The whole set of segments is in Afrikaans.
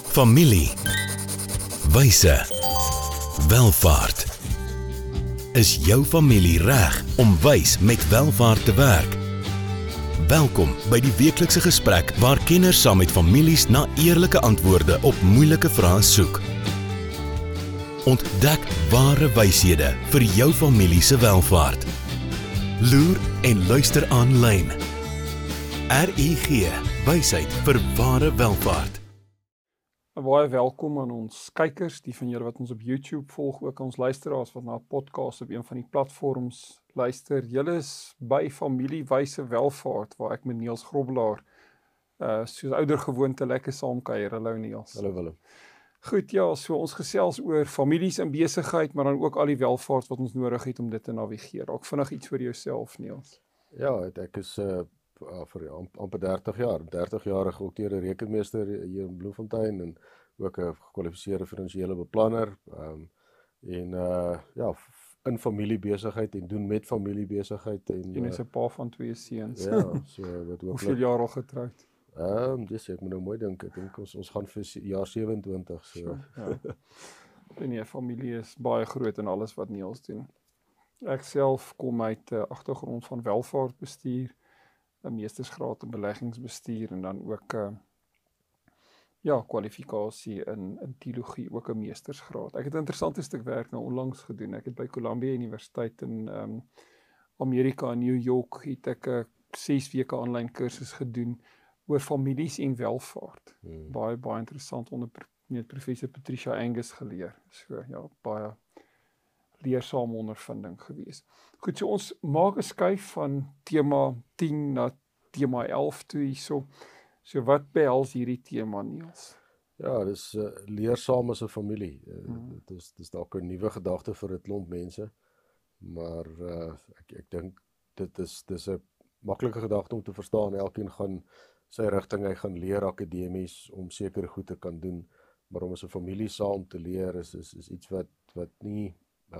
Familie, wyse, welvaart. Is jou familie reg om wys met welvaart te werk? Welkom by die weeklikse gesprek waar kenners saam met families na eerlike antwoorde op moeilike vrae soek. Ontdek ware wyshede vir jou familie se welvaart. Loer en luister aanlyn. RUG, wysheid vir ware welvaart. Baie welkom aan ons kykers, die van julle wat ons op YouTube volg, ook ons luisteraars wat na 'n podcast op een van die platforms luister. Julle is by Familie Wyse Welvaart, waar ek met Niels Grobbelaar soos ouer gewoonte lekker saamkuier. Hallo Niels. Hallo Willem. Goed, ja, so ons gesels oor families in besigheid, maar dan ook al die welvaart wat ons nodig het om dit te navigeer. Dalk vinnig iets oor jouself, Niels. Ja, ek is vir amper 30 jaar, 30-jarige geokteerde rekenmeester hier in Bloemfontein en ook 'n gekwalifiseerde finansiële beplanner. In familiebesigheid en doen met familiebesigheid en Jy is 'n pa van 2 seuns. ja, so wat ook. Hoeveel jaar al getroud? Dis ek moet nou mooi dink. Ek dink ons gaan vir jaar 27 so. Ja. Nee, familie is baie groot in alles wat Niels doen. Ek self kom uit 'n agtergrond van welvaartbestuur, 'n meestersgraad in beleggingsbestuur en dan ook kwalifikasie in teologie, ook 'n meestersgraad. Ek het 'n interessante stuk werk nou onlangs gedoen. Ek het by Columbia Universiteit in Amerika in New York het ek 'n 6 weke aanlyn kursus gedoen oor families en welvaart. Baie interessant onder professor Patricia Angus geleer. So ja, baie leersame ondervinding gewees. Goed, so ons maak 'n skuif van tema 10 na tema 11 toe hierso. So wat behels hierdie tema, Niels? Ja, dis leersaam as 'n familie. Dis dalk 'n nuwe gedagte vir 'n klomp mense, maar ek dink dis 'n maklike gedagte om te verstaan. Elkeen gaan sy rigting, hy gaan leer akademies om sekere goed te kan doen, maar om as 'n familie saam te leer is iets wat nie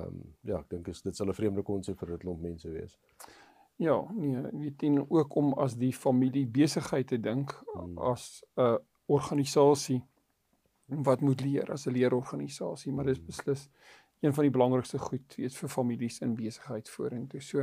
ek dink dit sal 'n vreemde konsep vir 'n klomp mense wees. Ja, nee, weet en ook om as die familie besigheid te dink as 'n organisasie wat moet leer as 'n leerorganisasie, maar dis beslis een van die belangrikste goed weet vir families in besigheid vorentoe. So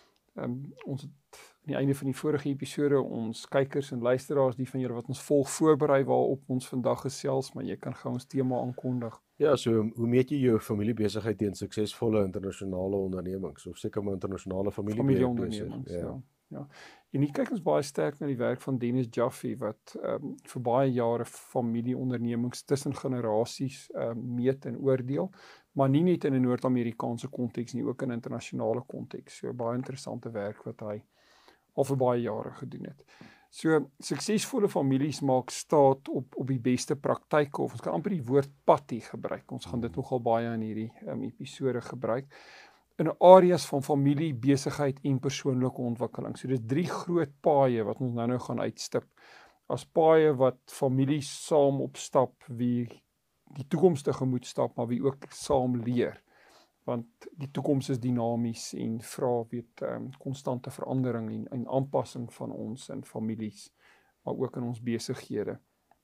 ons het aan die einde van die vorige episode ons kykers en luisteraars, die van julle wat ons volg, voorberei waarop ons vandag gesels, maar jy kan gou ons tema aankondig. Ja, so hoe meet jy jou familiebesigheid teen suksesvolle internasionale ondernemings of seker maar internasionale familieondernemings? Ja. En hier kyk ons baie sterk na die werk van Dennis Jaffe wat vir baie jare familieondernemings tussen generasies meet en oordeel, maar nie net in 'n Noord-Amerikaanse konteks nie, ook in 'n internasionale konteks. So baie interessante werk wat hy al vir baie jare gedoen het. So suksesvolle families maak staat op die beste praktyke, of ons kan amper die woord patty gebruik. Ons gaan dit nogal baie in hierdie episode gebruik. In areas van familie, besigheid en persoonlike ontwikkeling. So dis 3 groot paaie wat ons nou gaan uitstip. As paaie wat families saam opstap, wie die toekoms tegemoet stap, maar wie ook saam leer. Want die toekoms is dinamies en vra konstante verandering en aanpassing van ons in families, maar ook in ons besighede.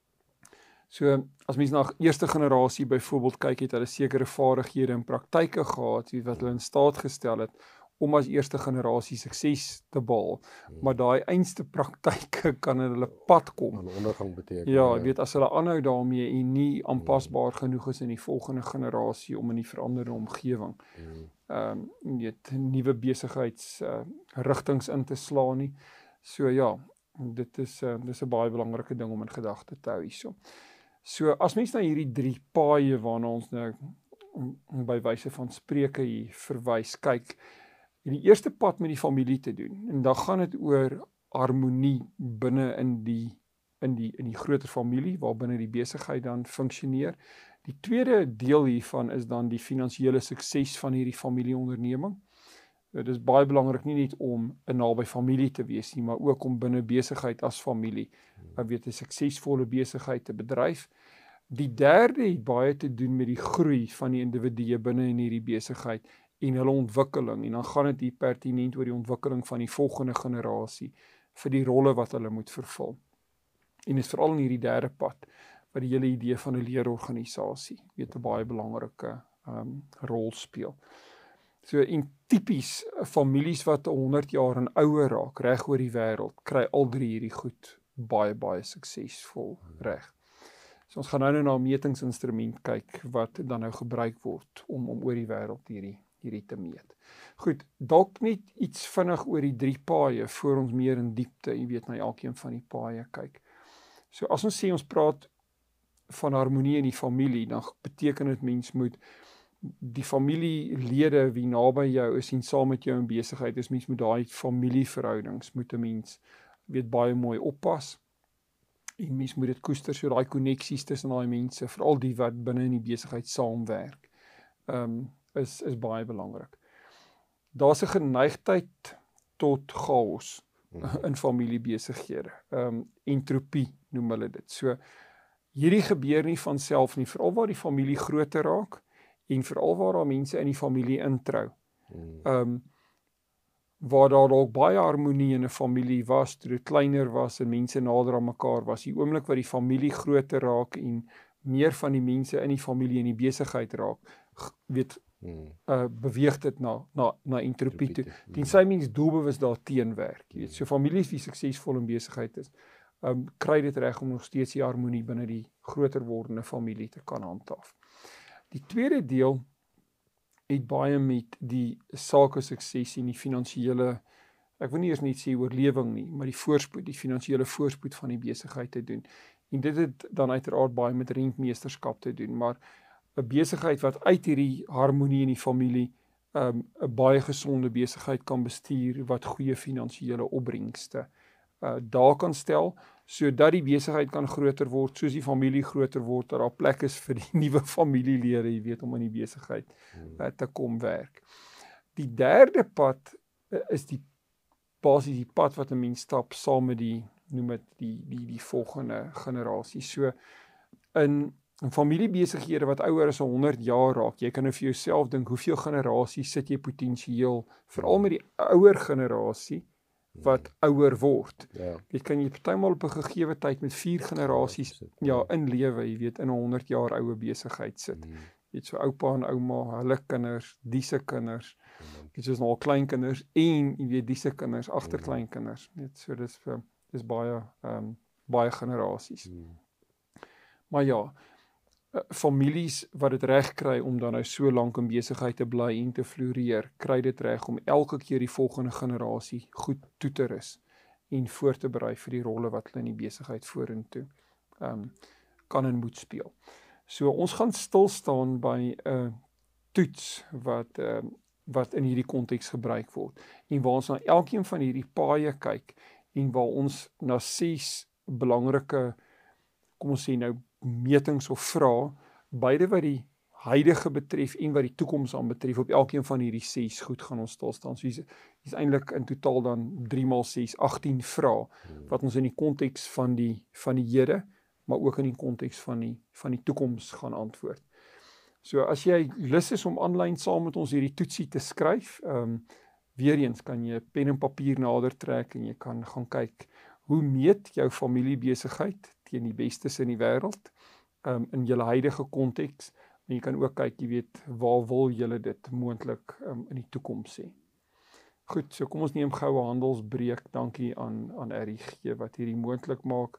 So as mens na eerste generasie byvoorbeeld kyk, het hulle sekere vaardighede en praktyke gehad wat hulle in staat gestel het om as eerste generasie sukses te behaal. Maar daai einste praktyke kan in hulle pad kom. 'n ondergang beteken. Ja, weet as hulle aanhou daarmee en nie aanpasbaar genoeg is in die volgende generasie om in die veranderde omgewing nuwe besigheidsrigtings in te slaan nie. So ja, dis 'n baie belangrike ding om in gedagte te hou hierso. So as mens na hierdie 3 paaie waarna ons nou by wyse van Spreuke hier verwys kyk, die eerste pad met die familie te doen, en dan gaan dit oor harmonie binne in die groter familie, waar binne die besigheid dan funksioneer. Die tweede deel hiervan is dan die finansiële sukses van hierdie familieonderneming. Dit is baie belangrik nie net om 'n naby familie te wees nie, maar ook om binne besigheid as familie, 'n suksesvolle besigheid te bedryf. Die derde het baie te doen met die groei van die individue binne in hierdie besigheid en hulle ontwikkeling, en dan gaan dit hier pertinent oor die ontwikkeling van die volgende generasie vir die rolle wat hulle moet vervul. En is veral in hierdie derde pad wat die hele idee van 'n leerorganisasie, weet 'n baie belangrike rol speel. So en tipies families wat 100 jaar en ouer raak, reg oor die wêreld, kry al drie hierdie goed baie suksesvol reg. So ons gaan nou na 'n metingsinstrument kyk wat dan nou gebruik word om oor die wêreld hierdie te meet. Goed, dalk net iets vinnig oor die 3 paaie voor ons meer in diepte, jy weet, na elkeen van die paaie kyk. So as ons sê ons praat van harmonie in die familie, dan beteken dit mens moet die familielede wie naby jou is en saam met jou in besigheid is, mens moet daai familieverhoudings moet 'n mens weet baie mooi oppas. En mens moet dit koester, so daai koneksies tussen daai mense, veral die wat binne in die besigheid saamwerk, is baie belangrik. Daar's 'n geneigtheid tot chaos in familiebesighede. Entropie noem hulle dit. So hierdie gebeur nie van self nie, veral waar die familie groter raak en veral waar daar mense in die familie introu. Waar daar dalk baie harmonie in 'n familie was, toe dit kleiner was en mense nader aan mekaar was. Die oomblik wat die familie groter raak en meer van die mense in die familie in die besigheid raak, weet beweeg dit na entropie toe. Tensy mens doelbewus daar teenwerk. Jy weet, so families wie suksesvol in besigheid is, kry dit reg om nog steeds die harmonie binne die groter wordende familie te kan handhaaf. Die tweede deel het baie met die sake sukses en die finansiële, ek wil nie eers net sê oorlewing nie, maar die voorspoed, die finansiële voorspoed van die besigheid te doen. En dit het dan uiteraard baie met rentmeesterskap te doen, maar 'n besigheid wat uit hierdie harmonie in die familie 'n baie gesonde besigheid kan bestuur wat goeie finansiële opbrengste daar kan stel, sodat die besigheid kan groter word, soos die familie groter word, dat daar plek is vir die nuwe familielede, jy weet, om in die besigheid te kom werk. Die derde pad is basies die pad wat 'n mens stap saam met noem dit die volgende generasie. So in familiebesighede wat ouer as 100 jaar raak, jy kan nou vir jouself dink, hoeveel generasies sit jy potensieel, veral met die ouer generasie, wat ouer word. Ja. Dit kan jy partymal op 'n gegeewe tyd met 4 generasies in lewe, jy weet, in 'n 100 jaar oue besigheid sit. Jy weet, so oupa en ouma, hulle kinders, die se kinders, dit is nou kleinkinders en jy weet die se kinders, agterkleinkinders. Net so dis baie generasies. Maar ja, families wat dit reg kry om dan nou so lank in besigheid te bly en te floreer, kry dit reg om elke keer die volgende generasie goed toe te rus en voor te berei vir die rolle wat hulle in die besigheid vorentoe kan en moet speel. So ons gaan stil staan by 'n toets wat in hierdie konteks gebruik word en waar ons na elkeen van hierdie paaie kyk en waar ons na 6 belangrike, kom ons sê nou, metings of vrae, beide wat die huidige betref en wat die toekoms aan betref, op elkeen van hierdie 6 goed gaan ons stil staan. So hier's eintlik in totaal dan 3 x 6, 18 vrae, wat ons in die konteks van die hede, maar ook in die konteks van die toekoms gaan antwoord. So as jy lus is om aanlyn saam met ons hierdie toetsie te skryf, weer eens kan jy pen en papier nader trek en jy kan gaan kyk, hoe meet jou familiebesigheid teen die bestes in die wêreld, in julle huidige konteks, en jy kan ook kyk, jy weet, waar wil julle dit moontlik in die toekoms sê. Goed, so kom ons neem goue handelsbreek. Dankie aan RIG wat hierdie moontlik maak.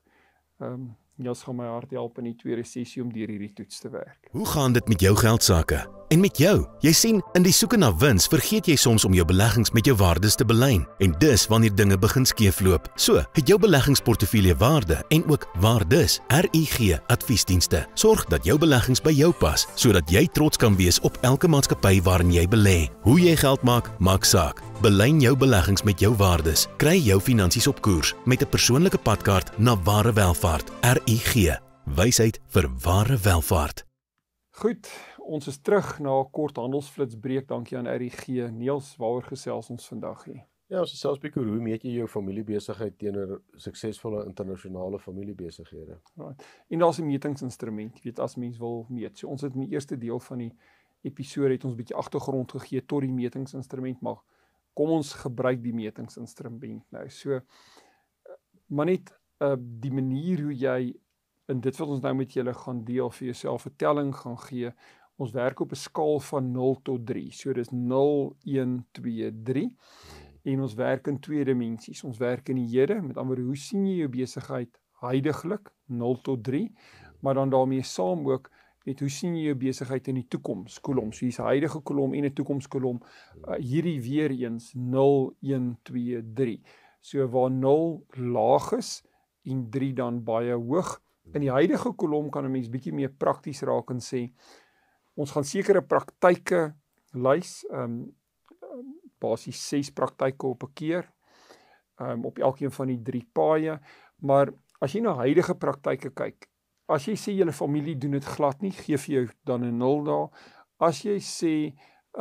Jy's gaan my hart help in die tweede sessie om deur hierdie toets te werk. Hoe gaan dit met jou geldsaake? En met jou? Jy sien, in die soeke na wins vergeet jy soms om jou beleggings met jou waardes te belyn. En dis wanneer dinge begin skeefloop. So, het jou beleggingsportefeulje waarde en ook waardes. RIG Adviesdienste sorg dat jou beleggings by jou pas, sodat jy trots kan wees op elke maatskappy waarin jy belê. Hoe jy geld maak, maak saak. Belyn jou beleggings met jou waardes. Kry jou finansies op koers met 'n persoonlike padkaart na ware welvaart. RIG, wysheid vir ware welvaart. Goed, ons is terug na 'n kort handelsflitsbreek. Dankie aan RIG. Niels, waaroor gesels ons vandag hier? Ja, ons gesels 'n bietjie oor hoe meet jy jou familiebesigheid teenoor suksesvolle internasionale familiebesighede. Right. En daar's 'n metingsinstrument, jy weet, as mens wil meet. So ons het in die eerste deel van die episode het ons 'n bietjie agtergrond gegee tot die metingsinstrument, maar kom ons gebruik die metingsinstrument nou. So, maar net die manier hoe jy en dit wat ons nou met julle gaan deel, vir jouself 'n telling gaan gee. Ons werk op 'n skaal van 0 tot 3. So dis 0, 1, 2, 3. En ons werk in 2 dimensies. Ons werk in die hede, met ander woorde, hoe sien jy jou besigheid huidiglik, 0 tot 3, maar dan daarmee saam ook, hoe sien jy jou besigheid in die toekoms, kolom, so hier's 'n huidige kolom en 'n toekomskolom, hierdie weer eens 0, 1, 2, 3. So waar 0 laag is en 3 dan baie hoog. In die huidige kolom kan 'n mens bietjie meer prakties raak en sê, ons gaan sekere praktyke lys, basies 6 praktyke op 'n keer, op elkeen van die 3 paaie, maar as jy na huidige praktyke kyk, as jy sê julle familie doen dit glad nie, gee vir jou dan 'n 0 daar. As jy sê,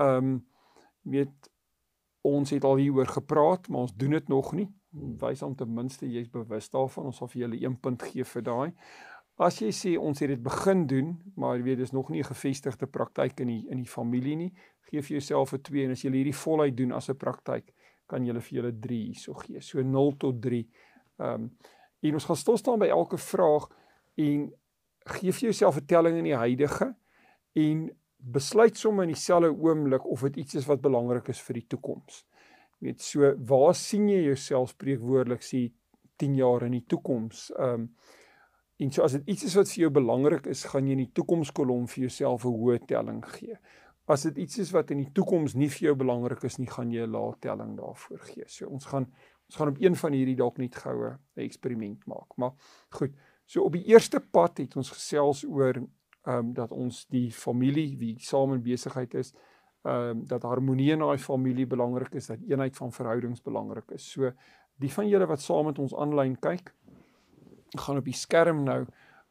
ons het al hieroor gepraat, maar ons doen dit nog nie, wys om ten minste jy's bewus daarvan, ons sal vir julle 1 punt gee vir daai. As jy sê ons het dit begin doen, maar jy weet dis nog nie 'n gevestigde praktyk in die familie nie, gee vir jouself 'n 2 en as jy hierdie voluit doen as 'n praktyk, kan jy vir julle 3 hierso gee. So 0 tot 3. En ons gaan stil staan by elke vraag en gee vir jouself 'n telling in die huidige en besluit sommer in dieselfde oomblik of dit iets is wat belangrik is vir die toekoms. Jy weet, so waar sien jy jouself spreekwoordelik sê 10 jaar in die toekoms? En so as dit iets is wat vir jou belangrik is, gaan jy in die toekomskolom vir jouself 'n hoë telling gee. As dit iets is wat in die toekoms nie vir jou belangrik is nie, gaan jy 'n lae telling daarvoor gee. So ons gaan op een van hierdie dalk net goue 'n eksperiment maak. Maar goed, so op die eerste pad het ons gesels oor dat ons die familie wie saam in besigheid is, dat harmonie in daai familie belangrik is, dat eenheid van verhoudings belangrik is. So die van julle wat saam met ons aanlyn kyk, gaan op die skerm nou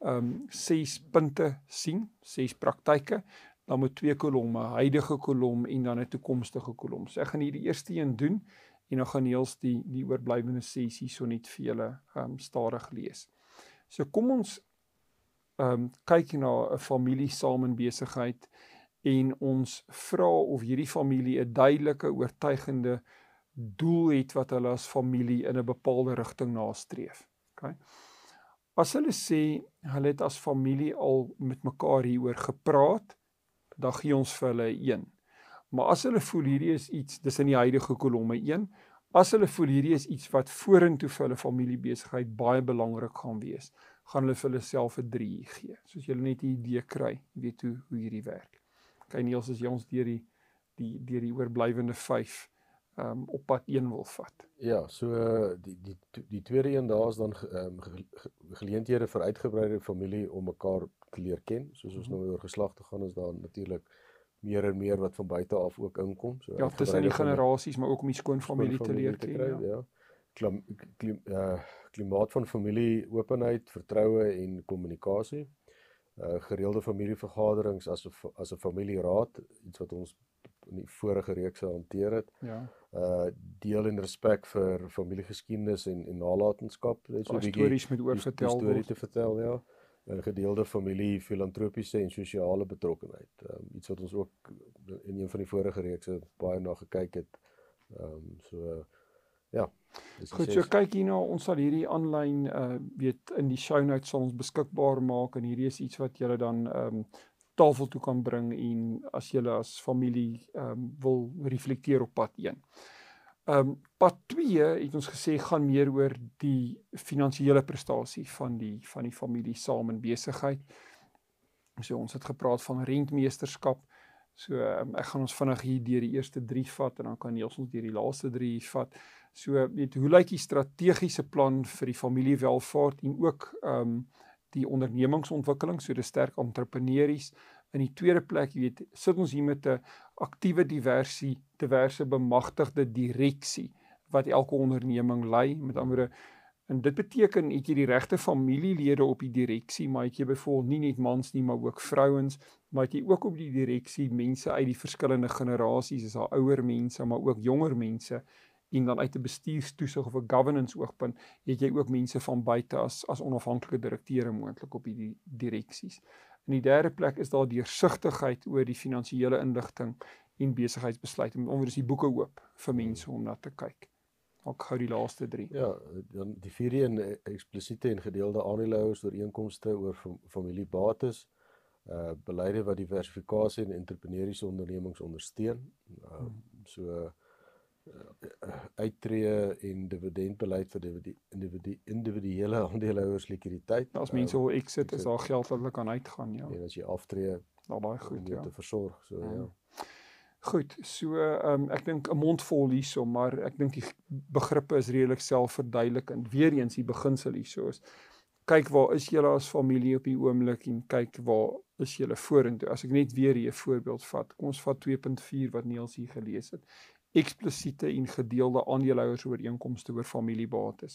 6 punte sien, 6 praktyke, dan met 2 kolomme, huidige kolom en dan 'n toekomstige kolom. So ek gaan hier die eerste een doen en dan gaan Niels die oorblywende sessie so net vir julle stadig lees. So kom ons kyk na 'n familie saam in besigheid en ons vra of hierdie familie 'n duidelike, oortuigende doel het wat hulle as familie in 'n bepaalde rigting nastreef. Okay? As hulle sê, hulle het as familie al met mekaar hieroor gepraat, dan gee ons vir hulle 1. Maar as hulle voel hierdie is iets, dis in die huidige kolomme 1, as hulle voel hierdie is iets wat vorentoe vir hulle familiebesigheid baie belangrik gaan wees, gaan hulle vir hulle self 'n 3 gee. Soos julle net 'n idee kry, weet hoe hierdie werk. Okay, Niels, as jy ons deur die oorblywende 5 op pad 1 wil vat. Ja, so die tweede een daar is dan geleenthede vir uitgebreide familie om mekaar te leer ken. Soos ons nou oor geslagte gaan, is daar natuurlik meer en meer wat van buite af ook inkom. So ja, tussen die generasies, maar ook om die skoonfamilie te leer ken. Ja. Klimaat van familie, openheid, vertroue en kommunikasie. Gereelde familievergaderings as 'n familieraad, iets wat ons in die vorige reekse hanteer het. Ja. Deel en respek vir familiegeskiedenis en nalatenskap, net so 'n bietjie stories met oorvertel storie te vertel, ja. Gedeelde familie, filantropiese en sosiale betrokkenheid. Iets wat ons ook in een van die vorige reekse baie na gekyk het. Ja. Goed, so kyk hierna, ons sal hierdie aanlyn in die show notes sal ons beskikbaar maak en hierdie is iets wat julle dan tafel toe kan bring en as julle as familie wil reflekteer op pad 1. Pad 2 het ons gesê gaan meer oor die finansiële prestasie van die familie saam in besigheid. So ons het gepraat van rentmeesterskap. So ek gaan ons vinnig hier deur die eerste 3 vat en dan kan Niels ons deur die laaste 3 vat. So weet hoe lyk die strategiese plan vir die familiewelvaart en ook die ondernemingsontwikkeling, so dis sterk entrepreneurs. In die tweede plek, sit ons hier met 'n aktiewe diverse bemagtigde direksie wat elke onderneming lei. Met ander woorde, en dit beteken het jy die regte familielede op die direksie, maar het jy byvoorbeeld nie net mans nie, maar ook vrouens, maar het jy ook op die direksie mense uit die verskillende generasies, is daar ouer mense, maar ook jonger mense. En dan uit 'n bestuurstoesig of 'n governance oogpunt, het jy ook mense van buite as onafhanklike direkteure moontlik op die direksies. In die derde plek is daar deursigtigheid oor die finansiële inligting en besigheidsbesluite. Met ander woorde is die boeke oop vir mense om na te kyk. Maak gou die laaste 3. Ja, dan die 4 en eksplisiete en gedeelde aandeelhouers ooreenkomste oor familiebates, beleide wat diversifikasie en entrepreneuriese ondernemings ondersteun. Uittreë en dividendbeleid vir individuele aandeelhouers likwiditeit. As mense wil exit, is daar geld wat hulle kan uitgaan, ja. En as jy aftree, baie goed, om jou te versorg, ja. Goed, so ek dink 'n mond vol hierso, maar ek dink die begrippe is redelik selfverduidelikend. Weereens die beginsel hierso is, kyk waar is julle as familie op die oomblik en kyk waar is julle vorentoe. As ek net weer hier 'n voorbeeld vat, kom ons vat 2.4 wat Niels hier gelees het. Eksplisiete en gedeelde aandeelhouers ooreenkomste oor familiebates.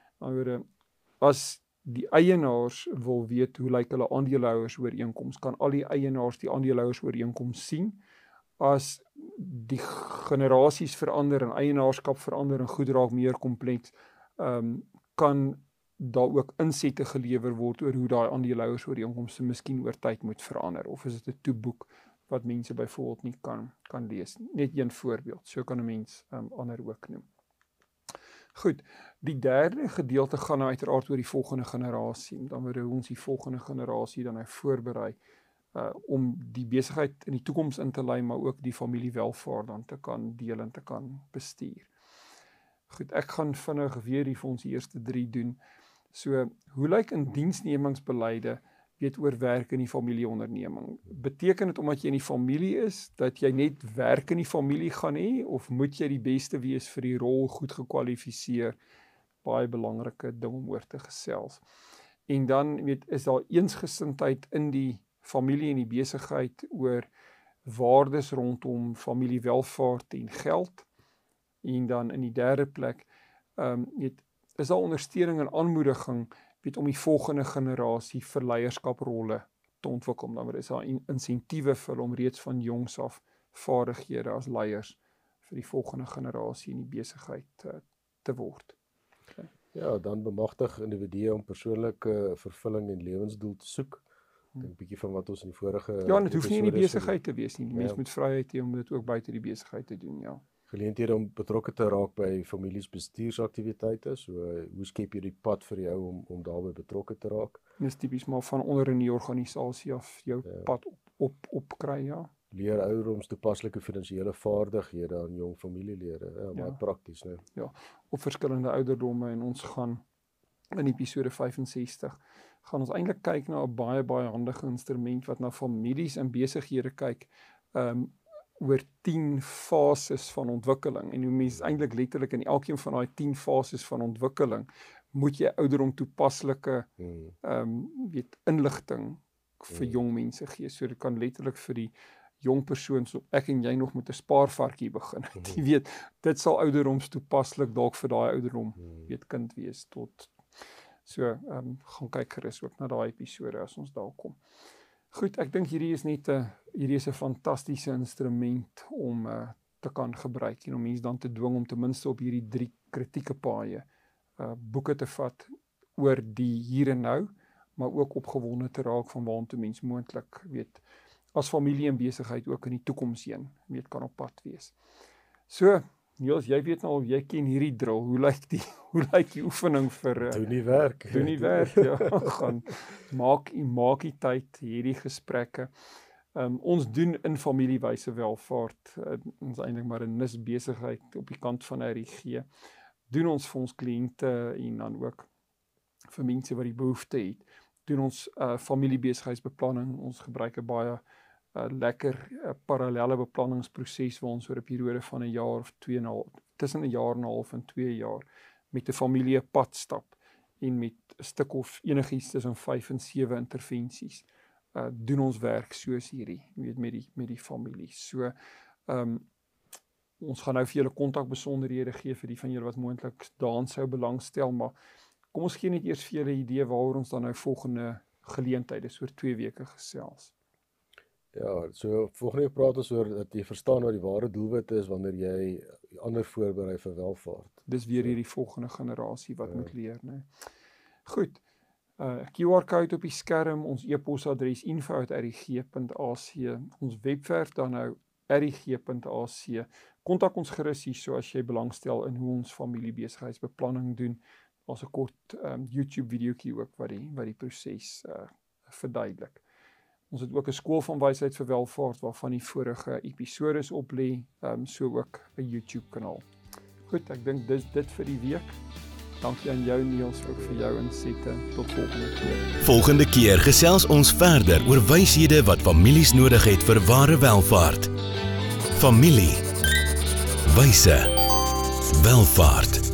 As die eienaars wil weet hoe lyk hulle aandeelhouers ooreenkoms, kan al die eienaars die aandeelhouers ooreenkoms sien. As die generasies verander en eienaarskap verander en goed raak meer kompleks, kan daar ook insette gelewer word oor hoe daai aandeelhouers ooreenkomste miskien oor tyd moet verander, of is dit 'n toeboek wat mense byvoorbeeld nie kan lees. Net een voorbeeld, so kan 'n mens ander ook noem. Goed, die derde gedeelte gaan nou uiteraard oor die volgende generasie. Dan word ons die volgende generasie dan voorberei om die besigheid in die toekoms in te lei, maar ook die familiewelvaart dan te kan deel en te kan bestuur. Goed, ek gaan vinnig weer hier vir ons die eerste 3 doen. So, hoe lyk indiensnemingsbeleide oor werk in die familieonderneming? Beteken dit omdat jy in die familie is, dat jy net werk in die familie gaan hê, of moet jy die beste wees vir die rol, goed gekwalifiseer? Baie belangrike ding om oor te gesels. En dan is daar eensgesindheid in die familie en die besigheid oor waardes rondom familiewelvaart en geld. En dan in die derde plek, is daar ondersteuning en aanmoediging om die volgende generasie vir leierskaprolle te ontwikkel. Dan is daar insentiewe vir om reeds van jongs af vaardighede as leiers vir die volgende generasie in die besigheid te word. Okay. Ja, dan bemagtig individue om persoonlike vervulling en lewensdoel te soek. Ek dink 'n bietjie van wat ons in die vorige Ja, dit hoef nie in die besigheid te wees nie. Die mens moet vryheid hê om dit ook buite die besigheid te doen, ja. Geleenthede om betrokke te raak by families bestuursaktiwiteite, so hoe skep jy die pad vir jou om daarbey betrokke te raak? Dit is tipies maar van onder in die organisasie af jou pad opkry, ja. Leer ouderdoms toepaslike finansiële vaardighede aan jong familielede, baie prakties, né? Ja, op verskillende ouderdomme, en ons gaan in episode 65 gaan ons eintlik kyk na 'n baie handige instrument wat na families en besighede kyk, oor 10 fases van ontwikkeling, en hoe mens eintlik letterlik in elkeen van daai 10 fases van ontwikkeling moet jy ouderdom toepaslike inligting vir jong mense gee. So dit kan letterlik vir die jong persoon, so ek en jy nog met 'n spaarvarkie begin. Jy weet, dit sal ouderdoms toepaslik dalk vir daai ouderdom kind wees tot. So gaan kyk gerus ook na daai episode as ons daar kom. Goed, ek dink hierdie is 'n fantastiese instrument om te kan gebruik en om mense dan te dwing om ten minste op hierdie 3 kritieke paaie boeke te vat oor die hier en nou, maar ook opgewonde te raak van waantoe mens moontlik as familie en besigheid ook in die toekoms heen kan op pad wees. So, Niels, jy weet nou al, jy ken hierdie drill. Hoe lyk die oefening vir doen die werk. Doen die werk, ja. Gaan maak die tyd hierdie gesprekke. Ons doen in familiewyse welvaart, ons eintlik maar 'n besigheid op die kant van RIG. Doen ons vir ons kliënte en dan ook vir mense wat die behoefte het. Doen ons familiebesigheidsbeplanning. Ons gebruik 'n baie lekker parallelle beplanningsproses waar ons oor 'n periode van 1 jaar of 2,5, tussen 1 jaar en 'n half en 2 jaar met 'n familie pad stap en met 'n stuk of enigiets tussen 5 en 7 intervensies doen ons werk soos hierdie, met die familie. So ons gaan nou vir julle kontakbesonderhede gee vir die van julle wat moontlik daaraan sou belangstel, maar kom ons gee net eers vir julle 'n idee waaroor ons dan nou volgende geleenthede oor 2 weke gesels. Ja, so volgende week praat ons oor dat jy verstaan wat die ware doelwitte is wanneer jy ander voorberei vir welvaart. Dis weer hierdie volgende generasie wat moet leer, né? Goed. QR-code op die skerm, ons e-posadres info@rig.ac, ons webwerf dan nou rig.ac, kontak ons gerus hier, so as jy belangstel in hoe ons familiebesigheidsbeplanning doen. Daar's 'n kort YouTube videoetjie ook wat die proses verduidelik. Ons het ook 'n skool van wysheid vir welvaart waarvan die vorige episodes op lê, so ook 'n YouTube kanaal. Goed, ek dink dis dit vir die week. Dankie aan jou Niels, ook vir jou insette. Tot volgende keer. Volgende keer gesels ons verder oor wyshede wat families nodig het vir ware welvaart. Familie. Wyse. Welvaart.